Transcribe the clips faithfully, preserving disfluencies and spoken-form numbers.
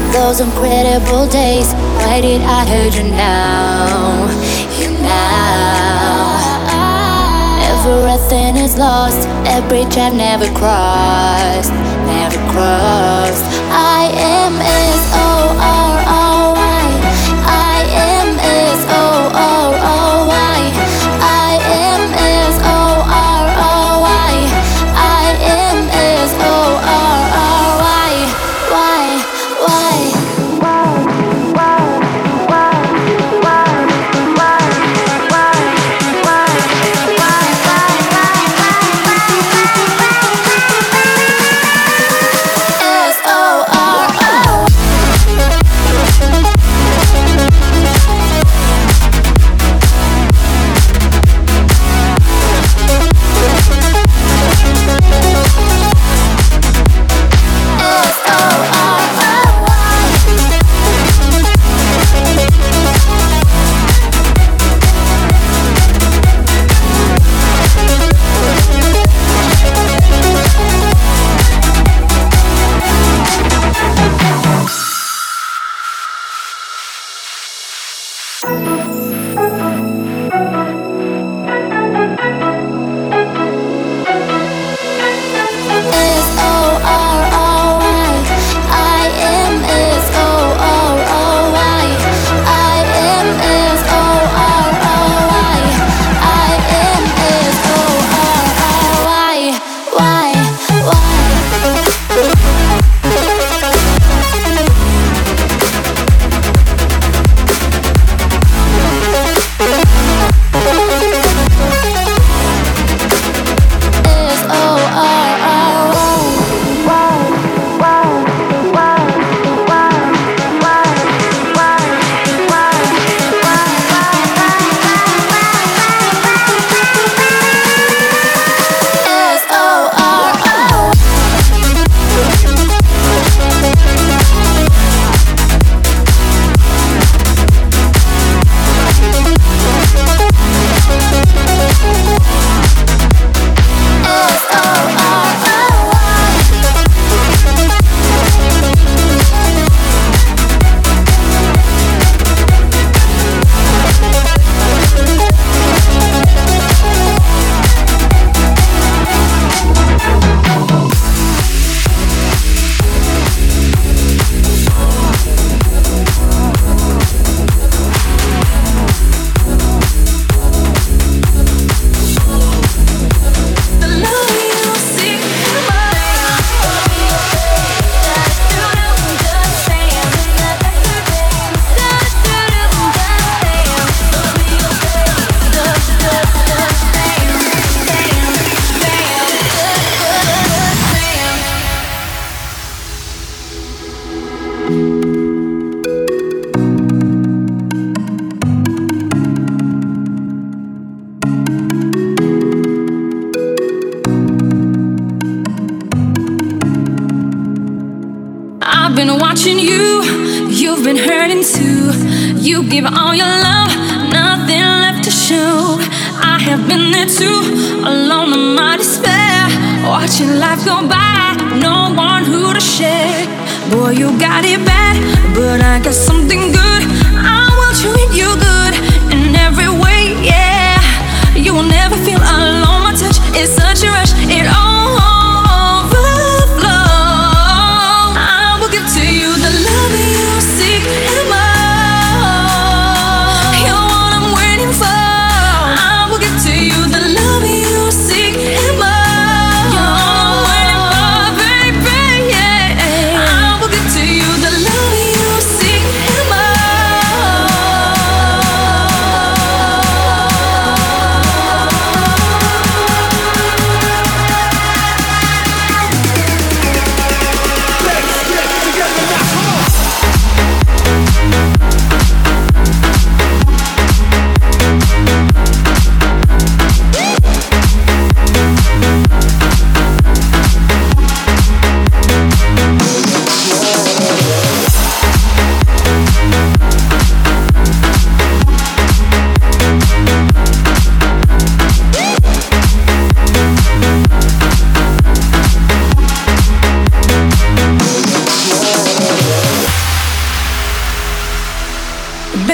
Those incredible days, why did I hurt you now? You now. Everything is lost, that bridge I've never crossed, never crossed. I am S O R O Y. I am S O R O Y. I am S O R O Y. I am S O R O Y. Why? Why?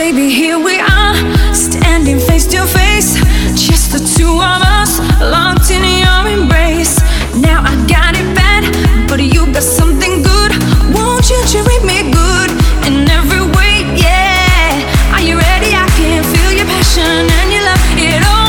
baby, here we are, standing face to face, just the two of us, locked in your embrace. Now I got it bad, but you got something good. Won't you treat me good in every way, yeah? Are you ready? I can feel your passion and your love, it all.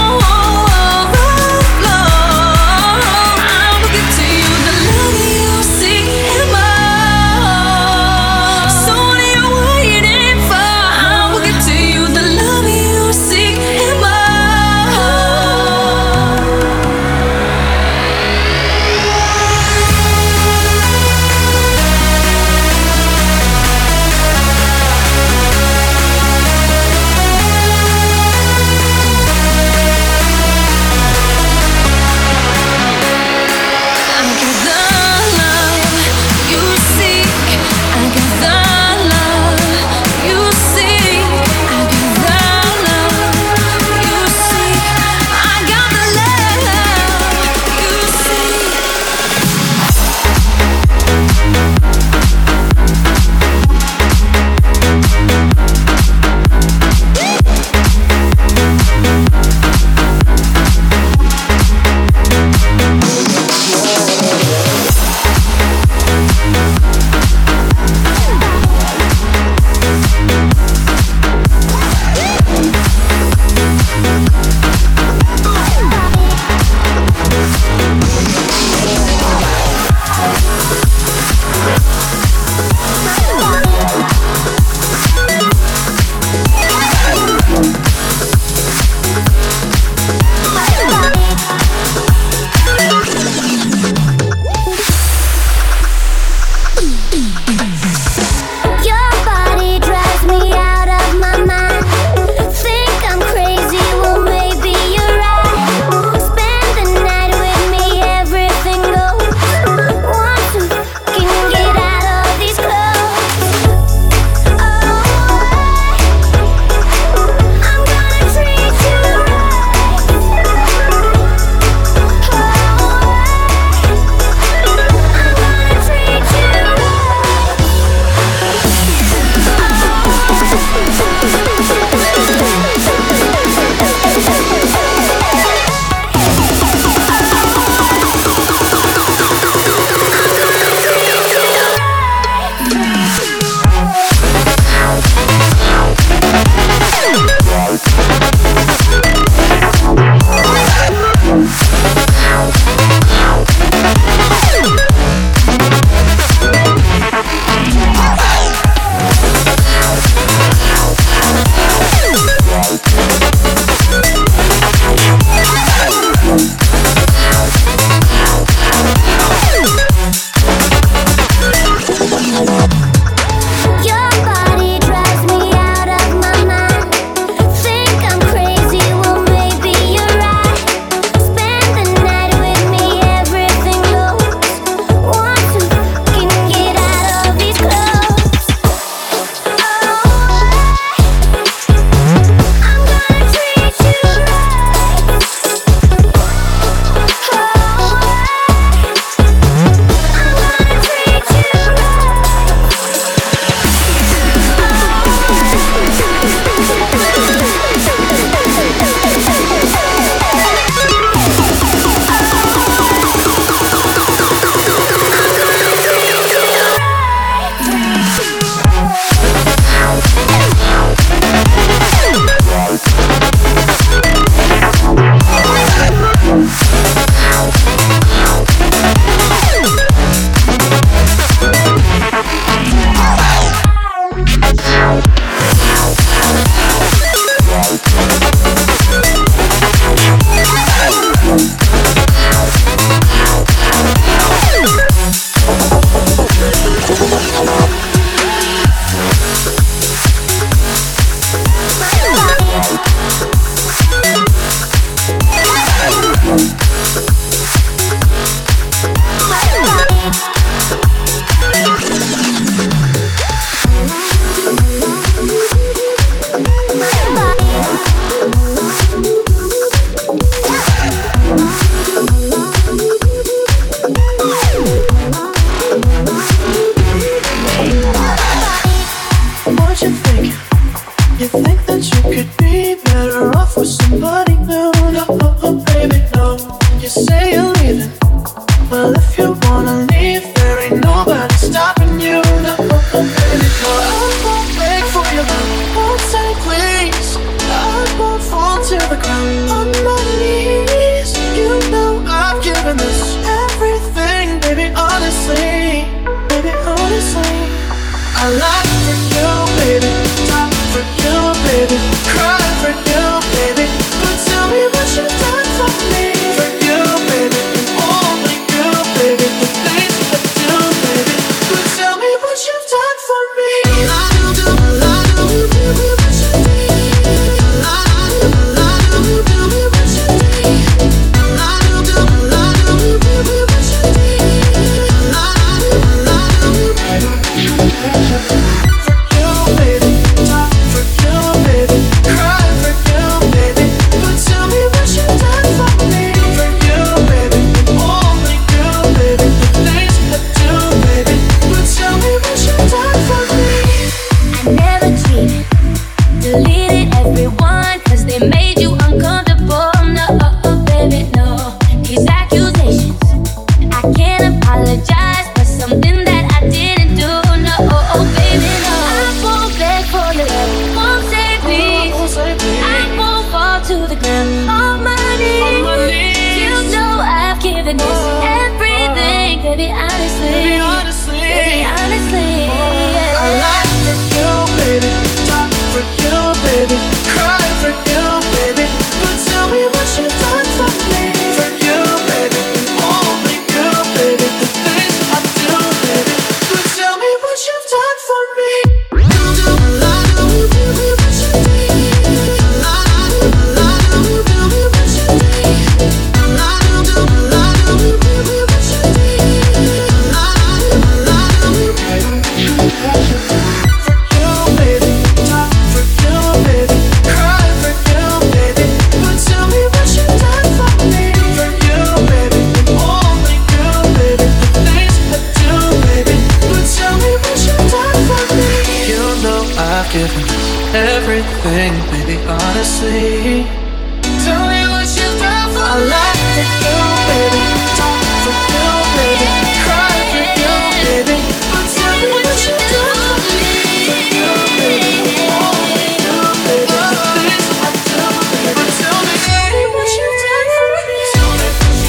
everything, baby, honestly. Tell me what you've done for me. I like for you, baby. Talk for you, baby. Cry for you, baby. But tell me what you've done for me. For you, baby. Only you, baby. The things I do, baby. But tell me what you've done for me. Tell me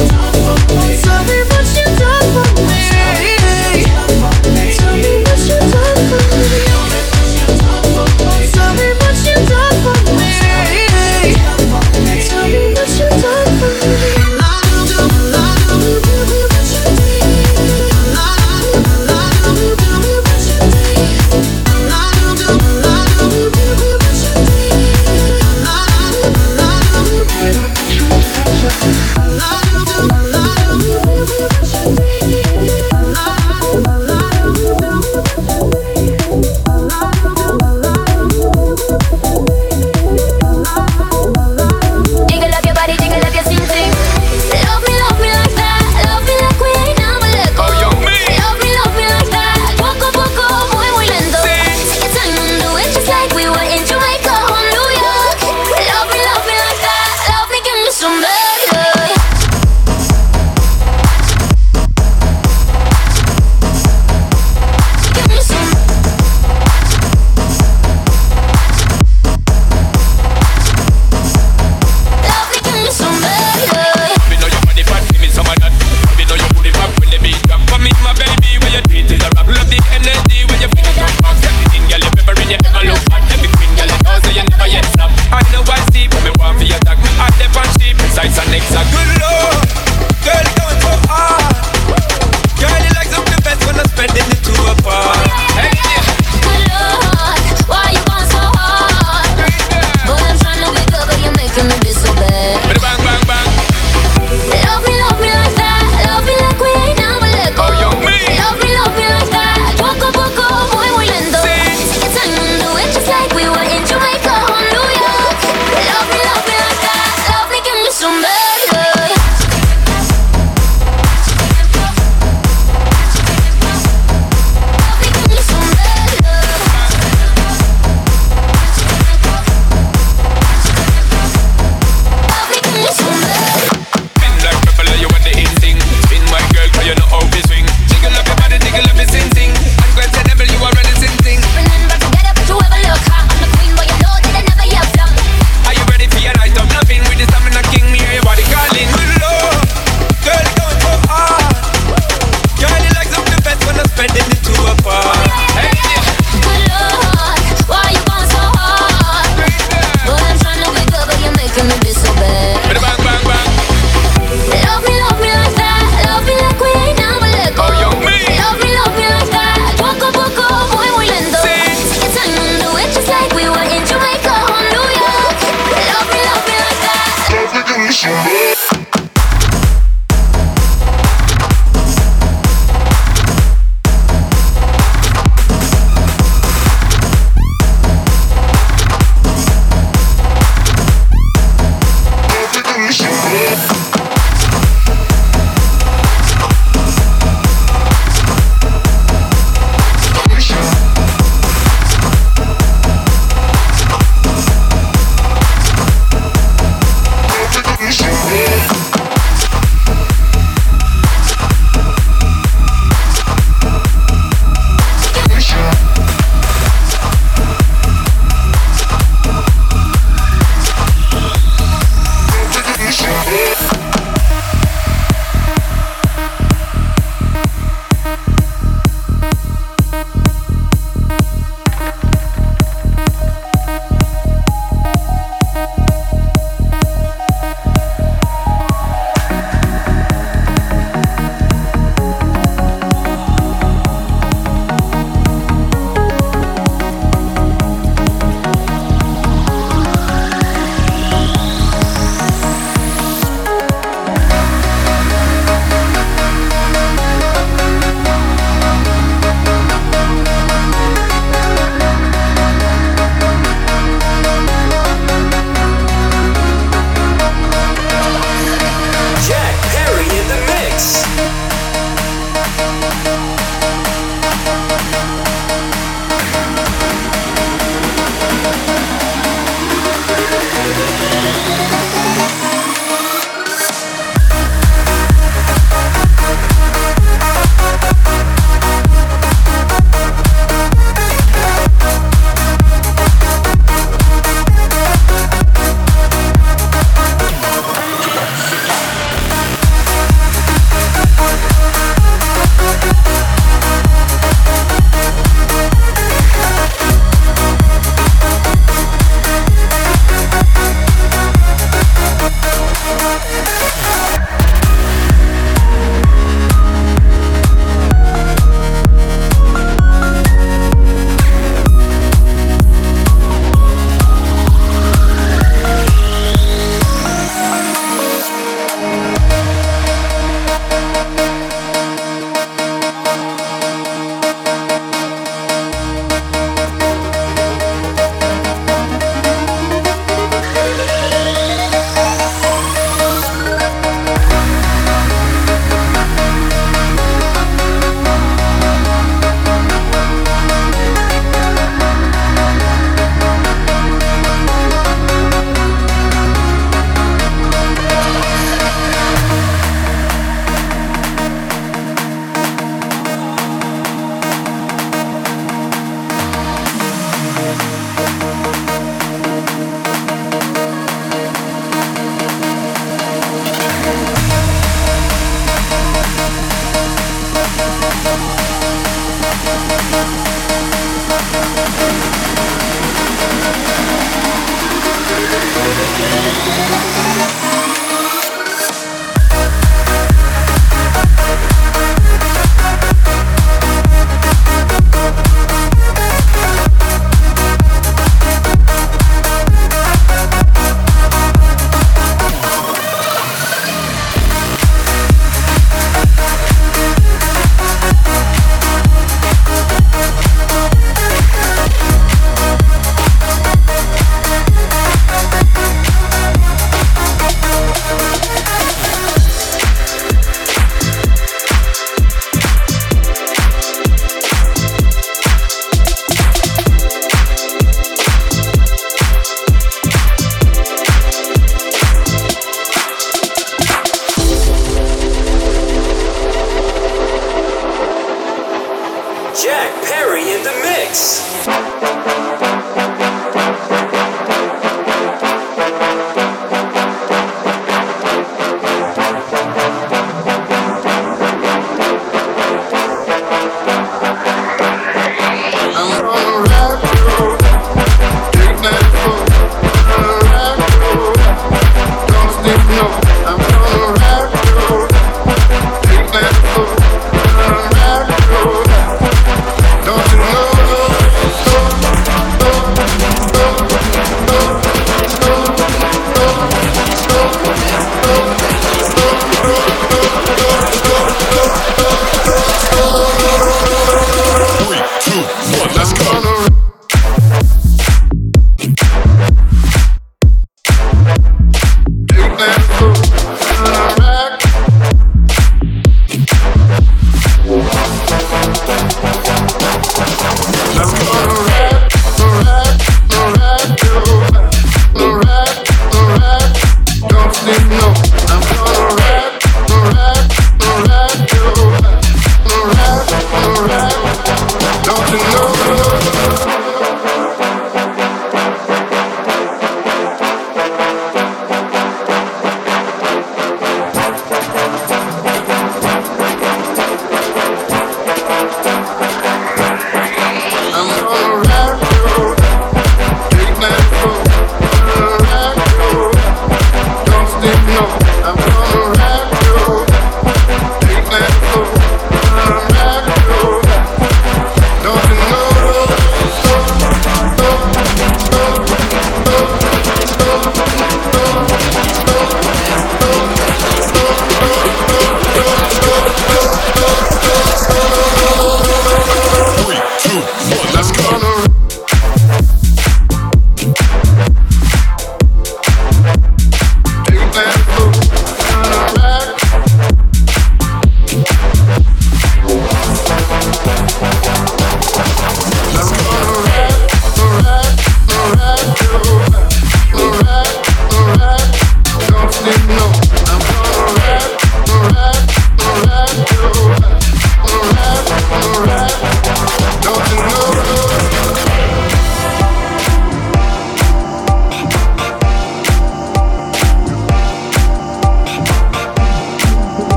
what you've done for me. Tell me what you've done for me. Tell me what you've done for me. Tell me what you've done for me. Tell me what you've done for me.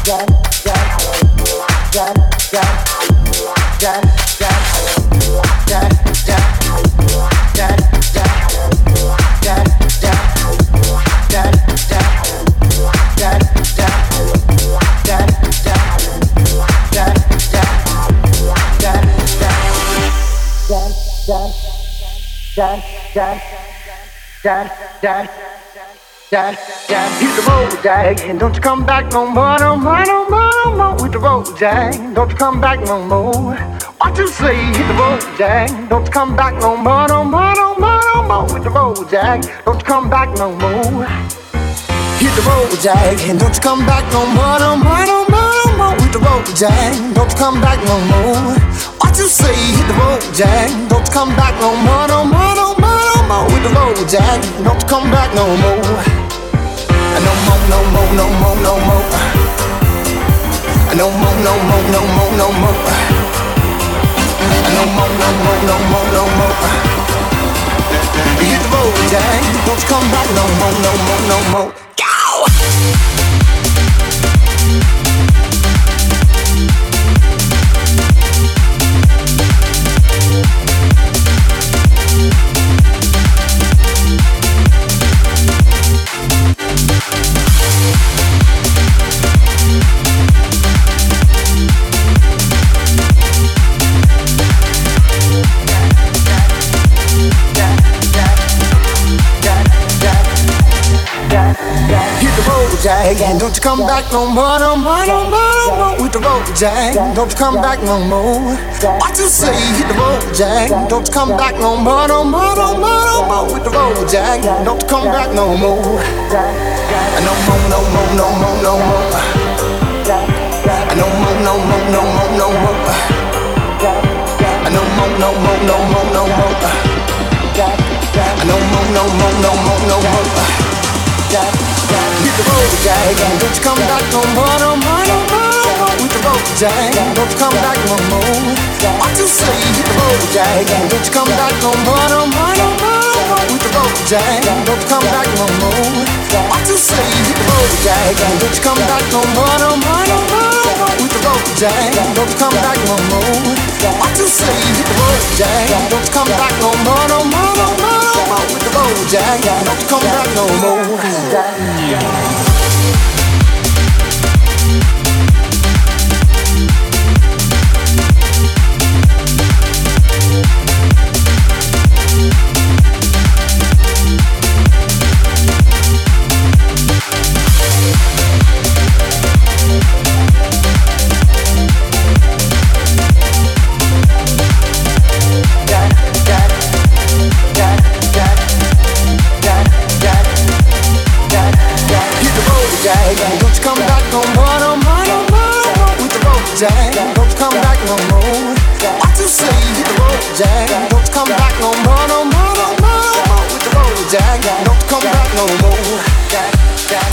Dad, dad, dad, dad, dad, dad, hit the road, Jack, and don't you come back no more, no more, no more, no more. Hit the road, Jack, don't you come back no more. What you say? Hit the road, Jack, don't you come back no more, no more, no more, no more. Hit the road, Jack, don't you come back no more. Hit the road, Jack, and don't you come back no more, no more, no more, no more. Hit the road, Jack, don't you come back no more. What you say? Hit the road, Jack, don't you come back no more, no more, no more, no more. Hit the road, Jack, don't you come back no more. No more, no more, no more, no more. No more, no more, no more, no more. No more, no more, no more, no more. Hit the road, Jack, don't you come back no more, no more, no more. Go! Jack, and don't you come back no more, no more, no more, no more. With the road, Jack, don't you come back no more. What you say? Hit the road, Jack, don't you come back no more, no more, no more, no more. With the road, Jack, don't you come back no more. No more, no more, no more, no more. No more, no more, no more, no more. No more, no more, no more, no more. No more, no more, no more, no more. Hit the road, Jack, and don't you come back no more, no more, no more, no more. With the road, Jack, and don't you come back no more. What you say? Hit the road, Jack, and don't you come back no more, no more, no more, no more. With the road, Jack, and don't you come back no more. What you say? Hit the road, Jack, and don't you come back no more, no more, no more, no more. With the road, Jack, and don't you come back no more. What you say? Hit the road, Jack, and don't you come back no more, no more, no more, no more. With the road, Jack, and don't you come back no more. Jack, don't you come back no more, no more, no more, no more. With the road, Jack, don't you come back no more. What you say? Hit the road, Jack, don't you come back no more, no more, no more, no more. With the road, Jack, don't you come back no more. Jack, Jack.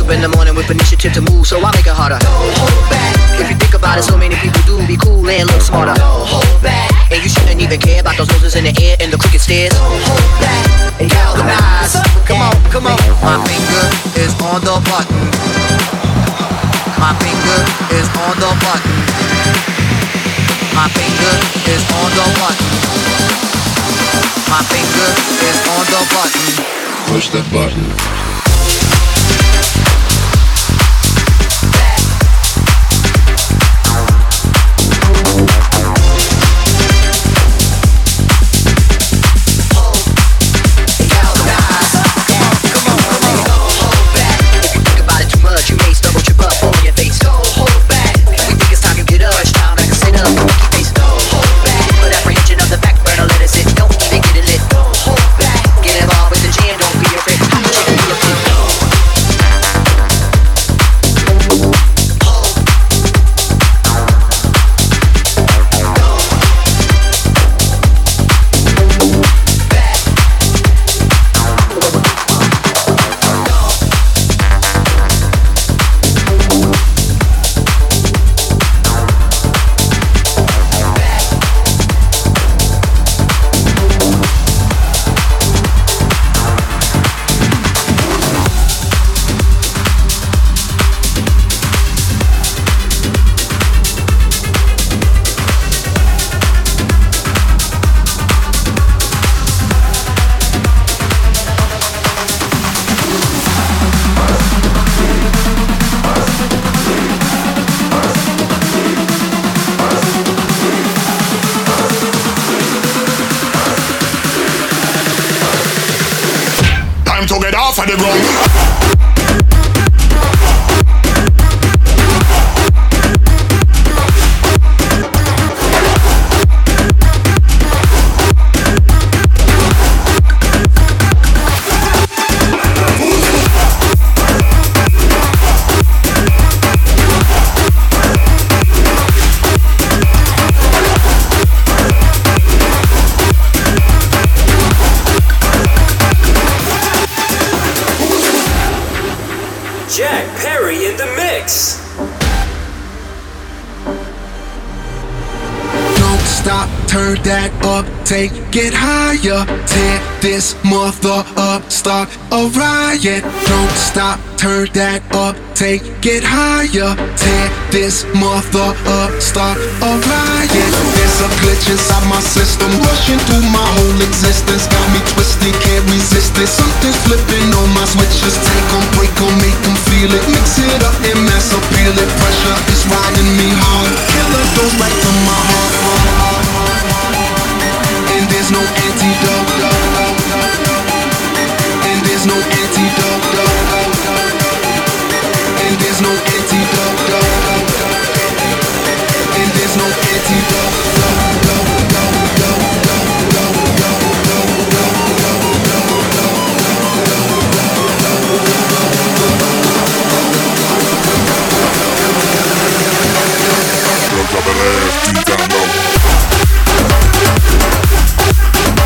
up in the morning with initiative to move, so I make it harder. Don't hold back. If you think about it, so many people do be cool and look smarter. Don't hold back. And you shouldn't even care about those noses in the air and the crooked stairs. Don't hold back. And galvanize. Come on, come on. My finger is on the button. My finger is on the button. My finger is on the button. My finger is on the button. Push the button. To get off of the ground. Jack Perry in the mix. Don't stop, turn that up, take it higher. Tear this mother up, start a riot. Don't stop, turn that up, take it higher. Tear this mother up, start a riot. There's a glitch inside my system, rushing through my whole existence. Got me twisted, can't resist it. Something's flipping on my switches. Take them, break them, make them feel it. Mix it up and mass appeal it. Pressure is riding me hard. Killer goes right to my heart. And there's no antidote. And there's no antidote. And there's no antidote. And there's no antidote. Drop it ass, deep down low.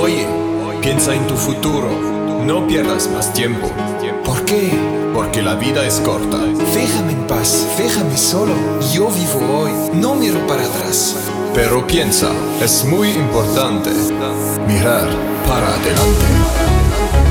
Oye, piensa en tu futuro, no pierdas más tiempo. ¿Por qué? Porque la vida es corta. Déjame en paz, déjame solo. Yo vivo hoy, no miro para atrás. Pero piensa, es muy importante mirar para adelante.